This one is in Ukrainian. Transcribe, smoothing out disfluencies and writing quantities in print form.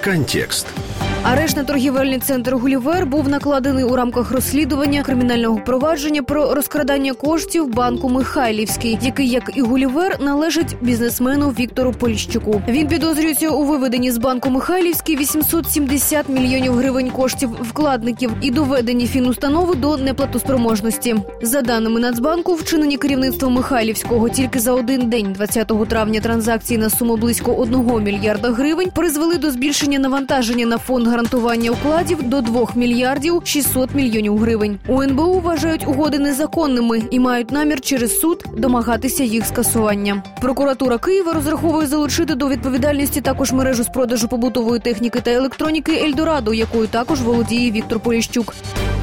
Контекст. Арешт на торгівельний центр «Гулівер» був накладений у рамках розслідування кримінального провадження про розкрадання коштів банку «Михайлівський», який, як і «Гулівер», належить бізнесмену Віктору Поліщуку. Він підозрюється у виведенні з банку «Михайлівський» 870 мільйонів гривень коштів вкладників і доведенні фінустанови до неплатоспроможності. За даними Нацбанку, вчинені керівництвом Михайлівського тільки за один день 20 травня транзакції на суму близько 1 мільярда гривень призвели до збільшення навантаження на фонд гарантування вкладів до 2 мільярдів 600 мільйонів гривень. У НБУ вважають угоди незаконними і мають намір через суд домагатися їх скасування. Прокуратура Києва розраховує залучити до відповідальності також мережу з продажу побутової техніки та електроніки «Ельдорадо», якою також володіє Віктор Поліщук.